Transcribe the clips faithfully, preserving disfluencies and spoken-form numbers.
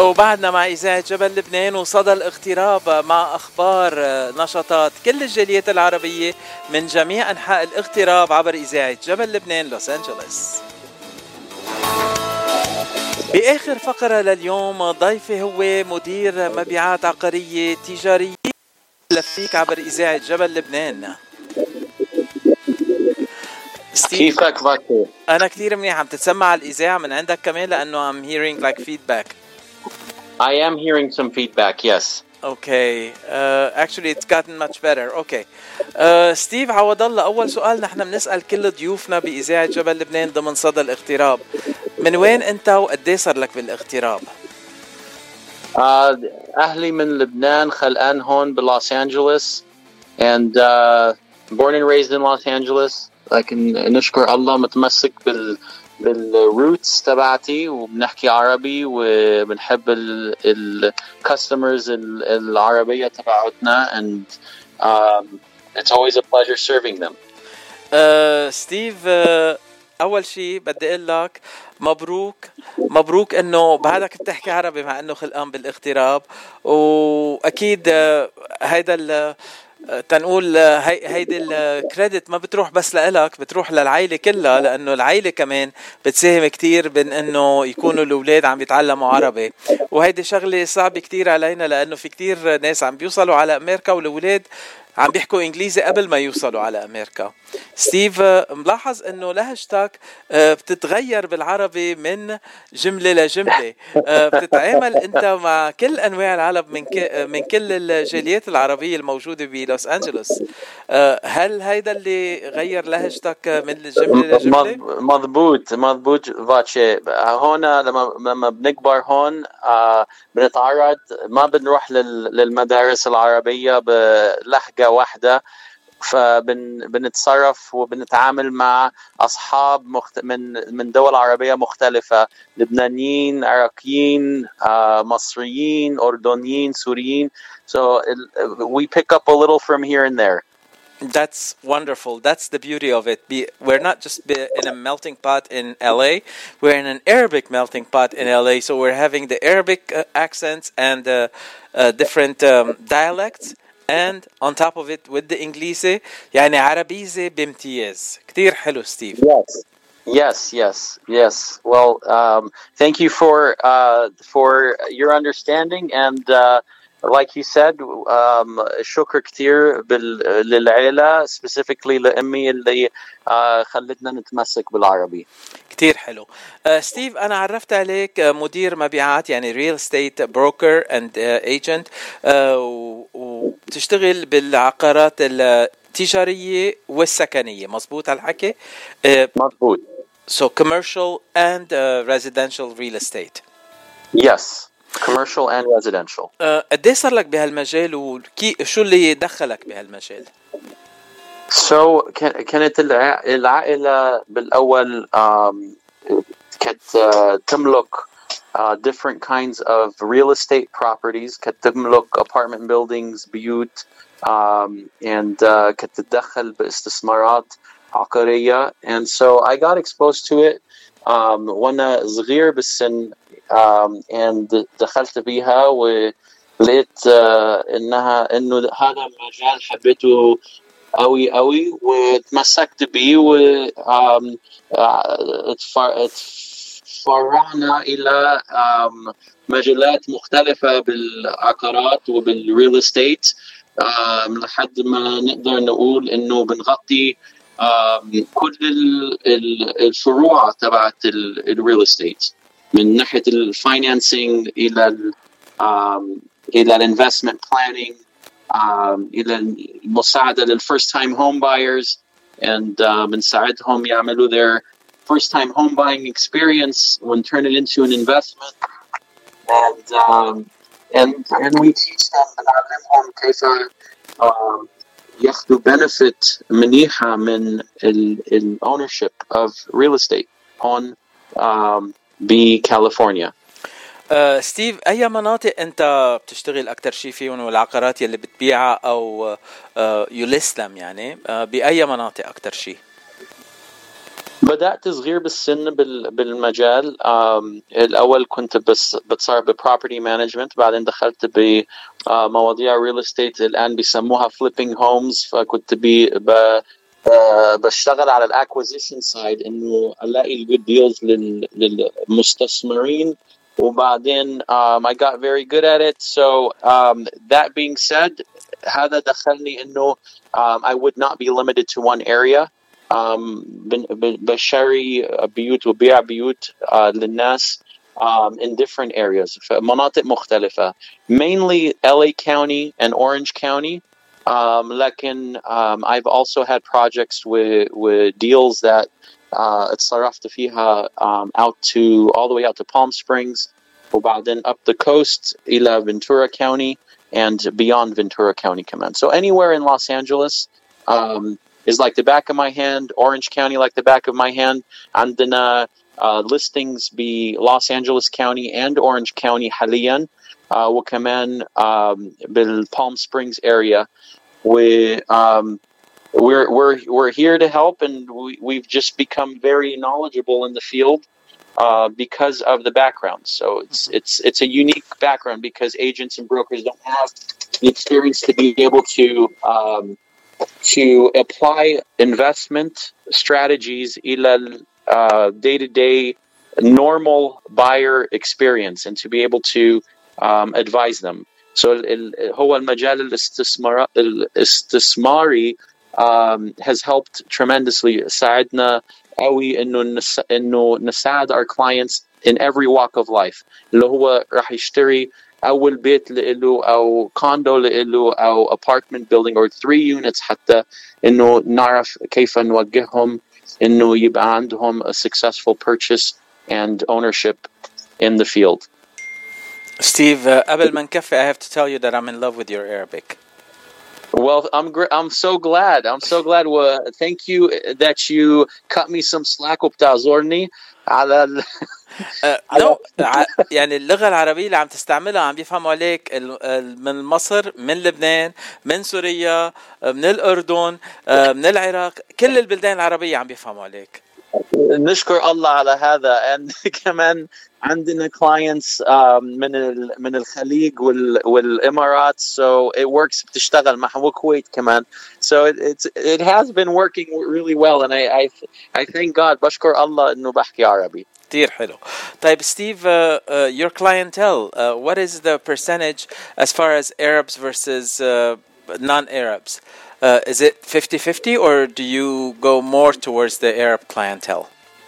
وبعدنا مع إذاعة جبل لبنان وصدى الاغتراب مع أخبار نشاطات كل الجاليات العربية من جميع أنحاء الاغتراب عبر إذاعة جبل لبنان لوس أنجلوس. بآخر فقرة لليوم ضيفي هو مدير مبيعات عقارية تجارية لفيك عبر إذاعة جبل لبنان. كيفك فاكر؟ أنا كتير منيح. عم تتسمع على الإذاعة من عندك كمان لأنه I'm hearing like feedback. I am hearing some feedback, yes. Okay. Uh, actually it's gotten much better. Okay. Uh, ستيف عوض الله، أول سؤال نحن بنسأل كل ضيوفنا بإذاعة جبل لبنان ضمن صدى الاغتراب، من وين أنت وقديه صار لك بالاغتراب؟ Uh, أهلي من لبنان، خلقان هون بلوس أنجلوس and uh, born and raised in Los Angeles. لكن نشكر الله متمسك بال بالروتس تبعتي وبنحكي عربي وبنحب الكاستمرز العربية تبعتنا and um, it's always a pleasure serving them. uh, ستيف uh, أول شيء بدي أقول لك مبروك مبروك إنه بعدك بتحكي عربي مع إنه خلقان بالاغتراب، وأكيد uh, هيدا ال تنقول هي هيدي الكريدت ما بتروح بس لإلك، بتروح للعائلة كلها، لأنه العائلة كمان بتساهم كتير بين إنه يكونوا الأولاد عم يتعلموا عربي، وهيدي شغلة صعبة كتير علينا لأنه في كتير ناس عم بيوصلوا على أمريكا والأولاد عم بيحكوا إنجليزي قبل ما يوصلوا على أمريكا. ستيف ملاحظ إنه لهجتك بتتغير بالعربي من جملة لجملة، بتتعامل أنت مع كل أنواع العرب من من كل الجاليات العربية الموجودة بلوس أنجلوس. هل هيدا اللي غير لهجتك من الجملة لجملة؟ مضبوط مضبوط فاتشي. هون لما لما بنكبر هون بنتعرض، ما بنروح للمدارس العربية بلهجة واحدة، فبنتصرف وبنتعامل مع أصحاب مخت... من من دول عربية مختلفة، لبنانيين، عراقيين، uh, مصريين، أردنيين، سوريين. So we pick up a little from here and there. That's wonderful. That's the beauty of it. Be, we're not just be in a melting pot in L A. We're in an Arabic melting pot in L A. So we're having the Arabic uh, accents and uh, uh, different um, dialects. And on top of it with the إنجليزي، يعني عربيزي بامتياز. كتير حلو ستيف. Yes, yes, yes, yes. Well, um, thank you for uh, for your understanding and uh, like you said, um, شكر كتير للعائلة specifically لأمي اللي uh, خلتنا نتمسك بالعربي. كتير حلو. uh, ستيف، أنا عرفت عليك مدير مبيعات، يعني real estate broker and uh, agent uh, وبتشتغل بالعقارات التجارية والسكنية، مظبوط هالحكي؟ uh, مظبوط. So commercial and uh, residential real estate. Yes. commercial and residential. قديه صار لك بهالمجال وكي شو اللي دخلك بهالمجال؟ So كانت العائلة بالأول um, كانت uh, تملك uh, different kinds of real estate properties. كانت تملك apartment buildings، بيوت um, and uh, كانت تتدخل باستثمارات عقارية. And so I got exposed to it um, وأنا صغير بالسن. Um, and دخلت بيها ولقيت uh, إنها إنه هذا المجال حبيته قوي قوي وتمسكت بيه و um, uh, اتفرعنا إلى um, مجالات مختلفة بالعقارات وبالريل استيت um, لحد ما نقدر نقول إنه بنغطي um, كل الفروع تبعت الريل استيت، من ناحية الفاينانسينج إلى ال um, إلى الانفستمنت بلانينج um, إلى المساعدة للفيرست تايم هوم بايرز and uh, بنساعدهم يعملوا their first time home buying experience and turn it into an investment and um, and and we teach them بنعلمهم كيف um, ياخدوا benefit منيحة من ال, ال ownership of real estate هون um, بكاليفورنيا. أه ستيف، أي مناطق أنت بتشتغل أكتر شيء فيهم والعقارات يلي بتبيعها أو أه يلست them يعني أه بأي مناطق أكتر شيء؟ بدأت صغير بالسن بال- بالمجال. آم، الأول كنت بس بتصير ببروبرتي مانجمنت، بعدين دخلت بمواضيع ريل استيت الآن بيسموها فليبينج هومز. فكنت بي ب- آه، بشتغل على الاكوزيشن سايد انه الاقي الجود ديلز للمستثمرين. وبعدين um, I got very good at it. So um, that being said, هذا دخلني انه um, I would not be limited to one area. um, بن- ب- بشتري بيوت وبيع بيوت uh, للناس um, in different areas في مناطق مختلفة, mainly L A County and Orange County. Um, لكن um, I've also had projects with with deals that uh, اتصرفت فيها um, out to all the way out to Palm Springs, وبعدين up the coast إلى Ventura County and beyond Ventura County كمان. So anywhere in Los Angeles um, is like the back of my hand. Orange County like the back of my hand. عندنا uh, listings be Los Angeles County and Orange County حاليا, uh, وكمان um, بالPalm Springs area. We um, we're we're we're here to help, and we, we've just become very knowledgeable in the field uh, because of the background. So it's it's it's a unique background because agents and brokers don't have the experience to be able to um, to apply investment strategies إلى uh, day-to-day normal buyer experience, and to be able to um, advise them. So ال- هو المجال الاستثمار الاستثماري um, has helped tremendously. ساعدنا قوي إنه نس إنه نساعد our clients in every walk of life. اللي هو راح يشتري أول بيت له أو condo له أو apartment building or three units, حتى إنه نعرف كيف نوجههم إنه يبقى عندهم a successful purchase and ownership in the field. Steve, uh, قبل ما نكفي, I have to tell you that I'm in love with your Arabic. Well, I'm gr- I'm so glad. I'm so glad. Well, thank you that you cut me some slack وبتعذرني على ال... uh, no, يعني اللغة العربية اللي عم تستعملها عم بيفهموا عليك من مصر, من لبنان, من سوريا, من الأردن, من العراق, كل البلدان العربية عم بيفهموا عليك. نشكر الله على هذا. and كمان عندنا clients um, من ال من الخليج وال والإمارات, so it works. بتشتغل مع الكويت كمان, so it it's it has been working really well, and I I I thank God. بشكر الله إنه بحكي عربي. كتير حلو. طيب Steve, uh, uh, your clientele, uh, what is the percentage as far as Arabs versus uh, non-Arabs? Uh, is it fifty-fifty, or do you go more towards the Arab clientele?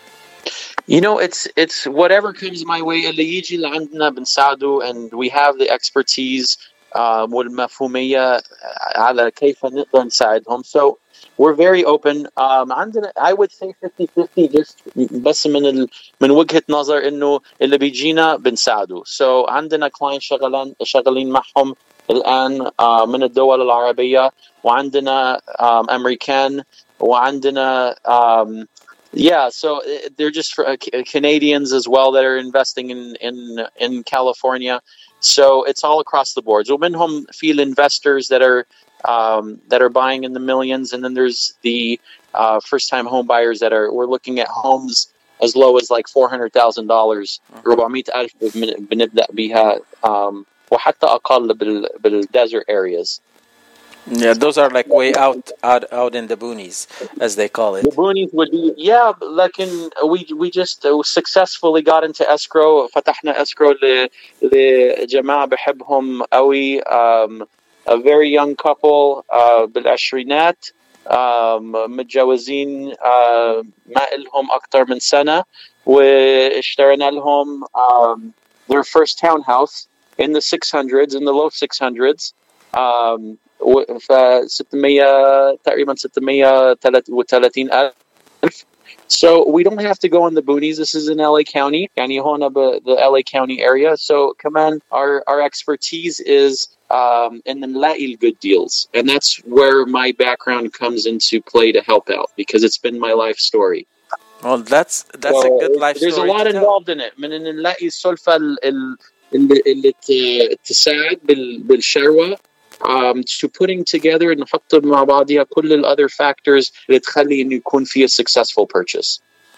You know, it's it's whatever comes my way. اللي يجي لعندنا بنساعده, and we have the expertise um, والمفهومية على كيف نقدر نساعدهم. So we're very open. Um, عندنا, I would say fifty-fifty, just بس من ال, من وجهة نظر إنه اللي بيجينا بنساعده. So عندنا clients شغالين شغالين معهم الآن uh, من الدول العربية, وعندنا um, أمريكان, وعندنا um, yeah, so they're just for, uh, Canadians as well that are investing in in in California. So it's all across the board. So منهم في investors that are um, that are buying in the millions, and then there's the uh, first-time home buyers that are we're looking at homes as low as like four hundred thousand dollars. أربعمية ألف بنبدأ بها, um, وحتى أقل بال بالdesert areas. Yeah, those are like way out, out, out in the boonies, as they call it. The boonies would be, yeah, لكن we we just uh, successfully got into escrow. فتحنا escrow ل لجماعة بحبهم قوي, um, a very young couple uh, بالعشرينات, um, متجوزين uh, ما إلهم أكتر من سنة, واشترينا لهم um, their first townhouse in the six hundreds, in the low six hundreds. Um, ف ستمية تقريبا ستمية وثلاثين ألف. So we don't have to go in the boonies. This is in L A County, يعني هون ب the L A County area. So كمان our our expertise is um, in نلاقي good deals, and that's where my background comes into play to help out, because it's been my life story. Well, that's that's so a good life there's story. There's a lot involved in it. من نلاقي السلفة اللي اللي تساعد بالشروة. Um, to putting together and نحط مع بعضها كل ال other factors اللي تخلي إنه يكون فيه a successful purchase.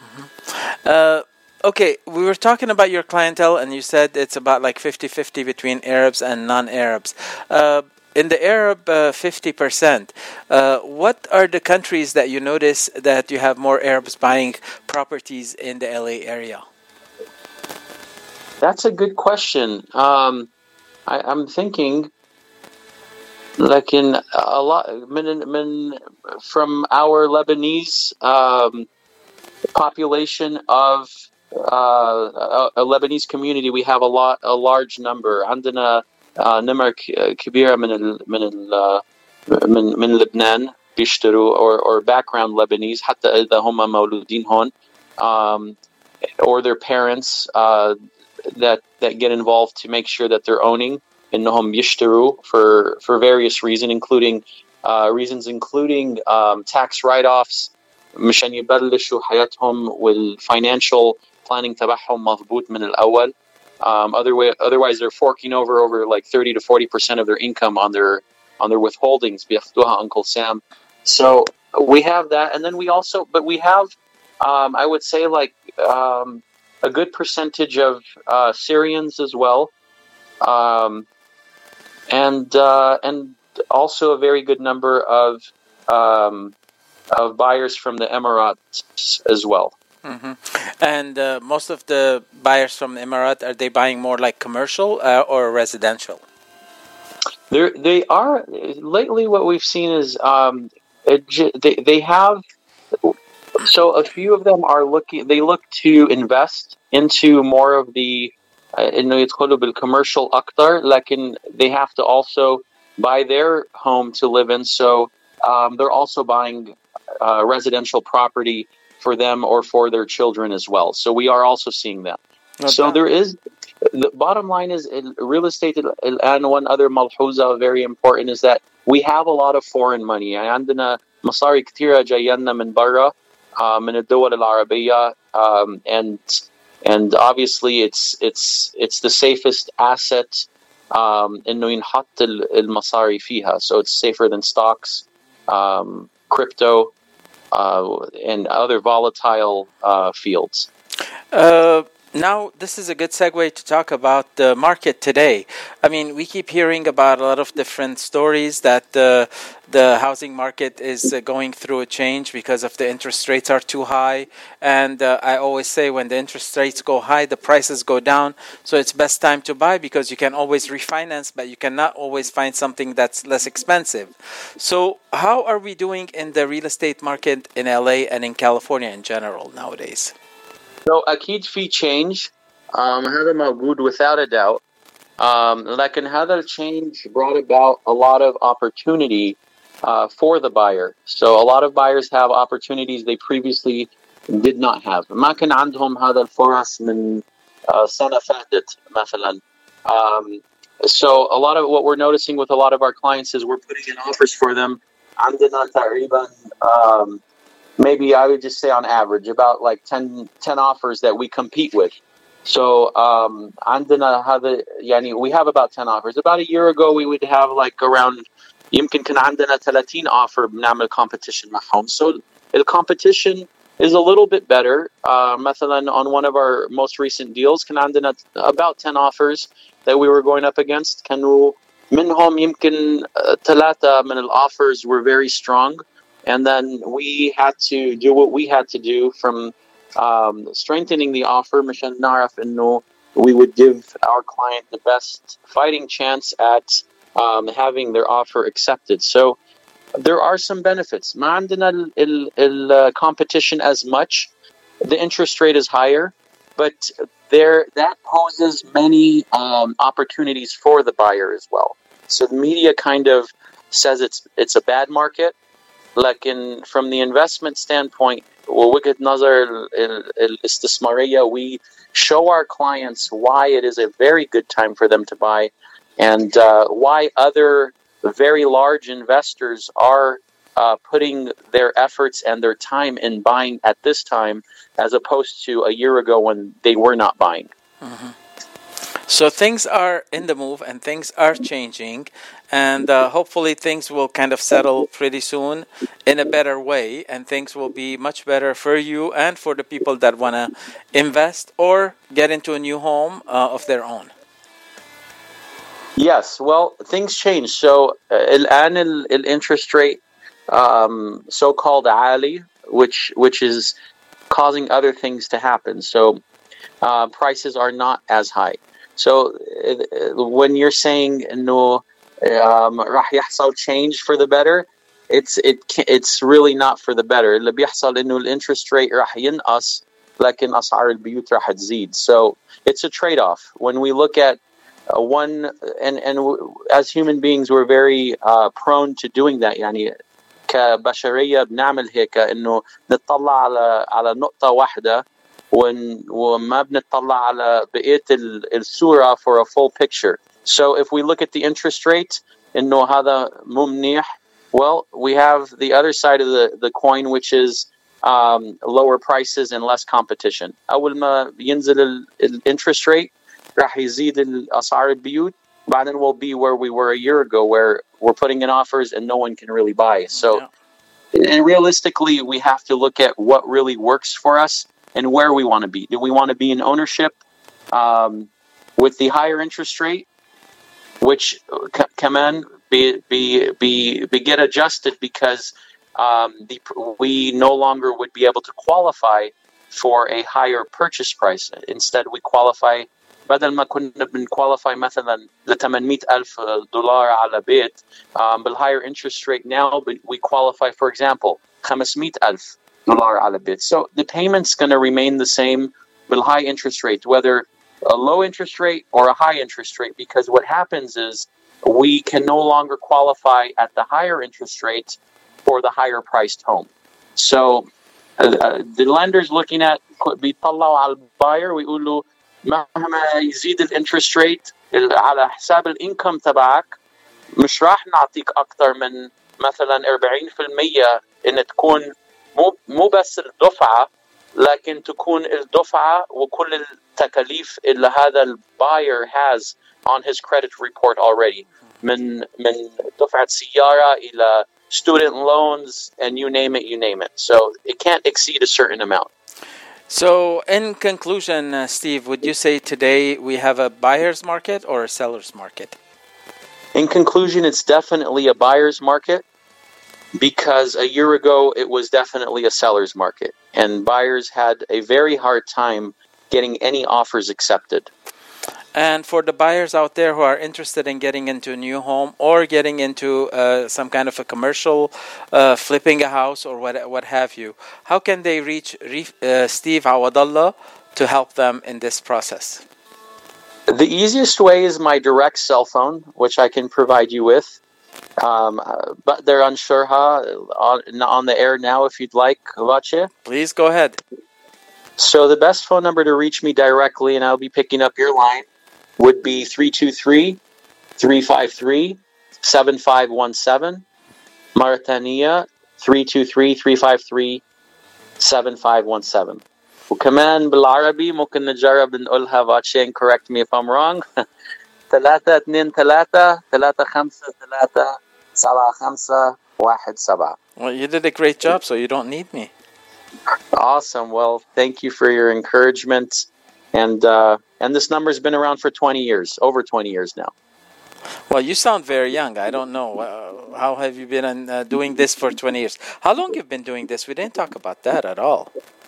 Uh, okay, we were talking about your clientele, and you said it's about like fifty-fifty between Arabs and non-Arabs. Uh, in the Arab uh, fifty percent, uh, what are the countries that you notice that you have more Arabs buying properties in the L A area? That's a good question. Um, I, I'm thinking, like in a lot, min, min, from our Lebanese um, population of uh, a, a Lebanese community, we have a lot, a large number. عندنا نمر كبيرة من ال من ال من من لبنان بيشتروا or or background Lebanese حتى إذا هم مولودين هون, um, or their parents uh, that that get involved to make sure that they're owning إنهم يشتروا for for various reasons, including uh, reasons including um, tax write-offs مشان يبلشوا حياتهم والfinancial planning تبعهم مضبوط من الأول. Um, other way, otherwise they're forking over over like thirty to forty percent of their income on their on their withholdings. بياخدوها Uncle Sam. So we have that, and then we also, but we have, um, I would say, like um, a good percentage of uh, Syrians as well, um, and uh, and also a very good number of um, of buyers from the Emirates as well. Mm-hmm. And uh, most of the buyers from the Emirate, are they buying more like commercial uh, or residential? They're, they are, lately what we've seen is um, it, they, they have, so a few of them are looking, they look to invest into more of the, إنه يدخلوا بالcommercial أكتر, لكن they have to also buy their home to live in, so um, they're also buying uh, residential property for them or for their children as well. So we are also seeing that. Okay. So there is, the bottom line is real estate, and one other ملحوظة very important is that we have a lot of foreign money. عندنا مصاري كتيرة جاينا من برا, من الدول العربية, um, and and obviously it's it's it's the safest asset um, إنه ينحط المصاري فيها. So it's safer than stocks, um, crypto, Uh, and other volatile uh, fields. Uh, now, this is a good segue to talk about the market today. I mean, we keep hearing about a lot of different stories that uh, the housing market is uh, going through a change because of the interest rates are too high. And uh, I always say when the interest rates go high, the prices go down. So it's best time to buy because you can always refinance, but you cannot always find something that's less expensive. So how are we doing in the real estate market in L A and in California in general nowadays? So أكيد في change. Um, هذا موجود without a doubt. Um, لكن هذا change brought about a lot of opportunity uh, for the buyer. So a lot of buyers have opportunities they previously did not have. ما كان عندهم هذا الفرص من uh, سنة فاتت مثلا. Um, so a lot of what we're noticing with a lot of our clients is we're putting in offers for them. عندنا تقريبا um, maybe I would just say on average about like ten, ten offers that we compete with. So um, عندنا هذا يعني we have about ten offers. About a year ago we would have like around يمكن كان عندنا thirteen offer بنعمل competition معهم. So the competition is a little bit better. Uh, مثلا on one of our most recent deals كان عندنا about ten offers that we were going up against. كانوا منهم يمكن ثلاثة من الoffers were very strong. And then we had to do what we had to do from um, strengthening the offer. مشان نعرف إنه we would give our client the best fighting chance at um, having their offer accepted. So there are some benefits. ما عندنا ال, ال, ال competition as much. The interest rate is higher, but there that poses many um, opportunities for the buyer as well. So the media kind of says it's it's a bad market. Like in from the investment standpoint, ووجهة نظر الاستثمارية, we show our clients why it is a very good time for them to buy, and uh, why other very large investors are uh, putting their efforts and their time in buying at this time, as opposed to a year ago when they were not buying. Mm-hmm. So things are in the move and things are changing, and uh, hopefully things will kind of settle pretty soon in a better way, and things will be much better for you and for the people that want to invest or get into a new home uh, of their own. Yes, well, things change. So, uh, الآن ال- ال- interest rate, um, so-called عالي, which which is causing other things to happen. So, uh, prices are not as high. So, uh, when you're saying no, um, راح يحصل change for the better, it's it ca- it's really not for the better. اللي بيحصل إنه ال interest rate راح ينقص, لكن أسعار البيوت راح تزيد. So, it's a trade-off. When we look at uh, one, and and w- as human beings, we're very uh, prone to doing that. يعني كبشرية بنعمل هيك إنه نطلع على على نقطة واحدة ون- وما بنطلع على بقية ال- الصورة for a full picture. So if we look at the interest rate إنه هذا مو منيح, well, we have the other side of the, the coin, which is um, lower prices and less competition. أول ما ينزل ال, ال interest rate راح يزيد الأسعار البيوت, بعدين we'll be where we were a year ago, where we're putting in offers and no one can really buy. So, Yeah. and realistically, we have to look at what really works for us and where we want to be. Do we want to be in ownership um, with the higher interest rate, which c- come in, be, be, be, be get adjusted because um, the, we no longer would be able to qualify for a higher purchase price. Instead, we qualify, بدل ما كنا بنqualify مثلا ل ثمانمئة ألف دولار على بيت, um, بالhigher interest rate now, but we qualify, for example, خمسمئة ألف دولار على بيت. So the payment's going to remain the same بالhigh interest rate, whether a low interest rate or a high interest rate, because what happens is we can no longer qualify at the higher interest rate for the higher priced home. So uh, uh, the lender's looking at, بيطلعوا على الباير ويقولوا مهما يزيد الانترست ريت على حساب الانكم تبعك مش راح نعطيك اكثر من مثلا أربعين بالمئة ان تكون مو مو بس الدفعه, لكن تكون الدفعه وكل التكاليف اللي هذا الباير has on his credit report already, من من دفعه سياره الى student loans and you name it, you name it. So it can't exceed a certain amount. So, in conclusion, uh, Steve, would you say today we have a buyer's market or a seller's market? In conclusion, it's definitely a buyer's market, because a year ago it was definitely a seller's market, and buyers had a very hard time getting any offers accepted. And for the buyers out there who are interested in getting into a new home or getting into uh, some kind of a commercial, uh, flipping a house or what what have you, how can they reach uh, Steve Awadallah to help them in this process? The easiest way is my direct cell phone, which I can provide you with. Um, but they're unsure huh, on, on the air now if you'd like. Vache. Please go ahead. So the best phone number to reach me directly, and I'll be picking up your line, would be three two three, three five three, seven five one seven. Mauritania, three two three, three five three, seven five one seven. وكمان بالعربي ممكن نجرب نقولها فاتشين, correct me if I'm wrong. ثلاثة اثنين ثلاثة ثلاثة خمسة ثلاثة سبعة خمسة واحد سبعة. Well, you did a great job, so you don't need me. Awesome. Well, thank you for your encouragement. And uh, and this number's been around for twenty years, over twenty years now. Well, you sound very young. I don't know. Uh, how have you been uh, doing this for twenty years? How long you've been doing this? We didn't talk about that at all.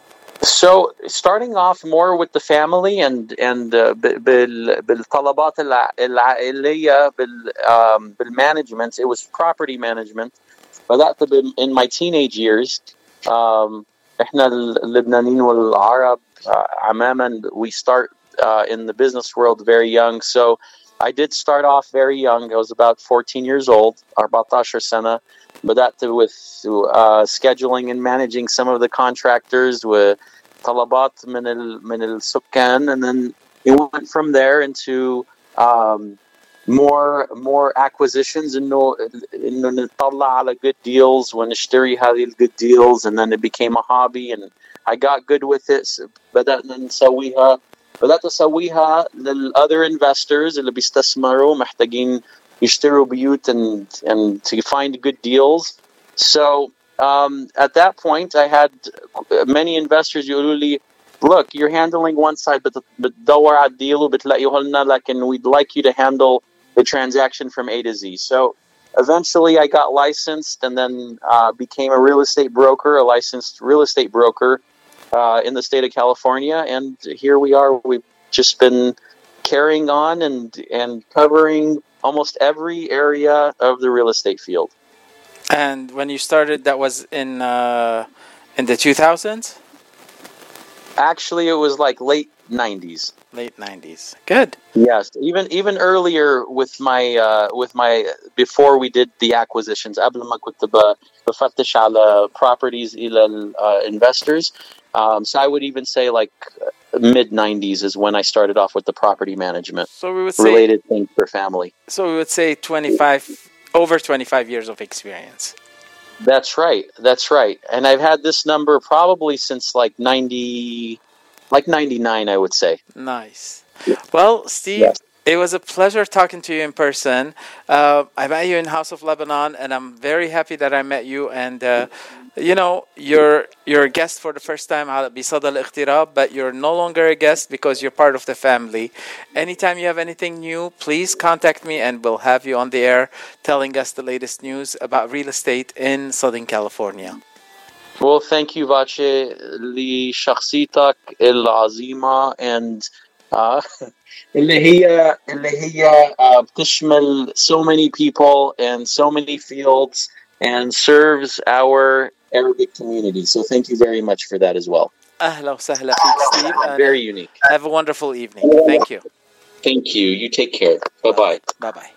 So starting off more with the family and and uh, بال بالطلبات العائلية بال um, بالmanagement, it was property management. بدأت in my teenage years. Um, إحنا اللبنانيين والعرب عماما, we start uh, in the business world very young. So I did start off very young. I was about fourteen years old, أربعة عشر سنة. بدأت with uh, scheduling and managing some of the contractors with طلبات من ال من السكان, and then it went from there into um, more more acquisitions, إنه إنه نطلع على good deals ونشتري هذه ال good deals, and then it became a hobby and I got good with it. بدأنا نسويها بدأت أسويها للother investors اللي بيستثمروا محتاجين يشتروا بيوت and and to find good deals. So um, at that point I had many investors يقولوا لي, look, you're handling one side but بتدور على الديل وبتلاقيه لنا, لكن we'd like you to handle the transaction from A to Z. So eventually I got licensed and then uh, became a real estate broker, a licensed real estate broker uh, in the state of California. And here we are. We've just been carrying on and, and covering almost every area of the real estate field. And when you started, that was in uh, in the two thousands? Actually, it was like late nineties. Late nineties. Good. Yes, even even earlier with my uh, with my before we did the acquisitions. قبل ما كنت بفتش على properties إلى uh, investors. Um, so I would even say like mid nineties is when I started off with the property management. So we would say related things for family. So we would say twenty-five over twenty-five years of experience. That's right. That's right. And I've had this number probably since like ninety, like ninety-nine, I would say. Nice. Well, Steve, yes. It was a pleasure talking to you in person. Uh, I met you in House of Lebanon, and I'm very happy that I met you. And, uh, you know, you're you're a guest for the first time على بصدى الاغتراب, but you're no longer a guest because you're part of the family. Anytime you have anything new, please contact me, and we'll have you on the air telling us the latest news about real estate in Southern California. Well, thank you, Vache, لشخصيتك العظيمة and uh, اللي هي اللي هي uh, بتشمل so many people and so many fields and serves our Arabic community. So thank you very much for that as well. أهلا وسهلا فيك, Steve. Very unique. Have a wonderful evening. Thank you. Thank you. You take care. Bye-bye. Bye-bye.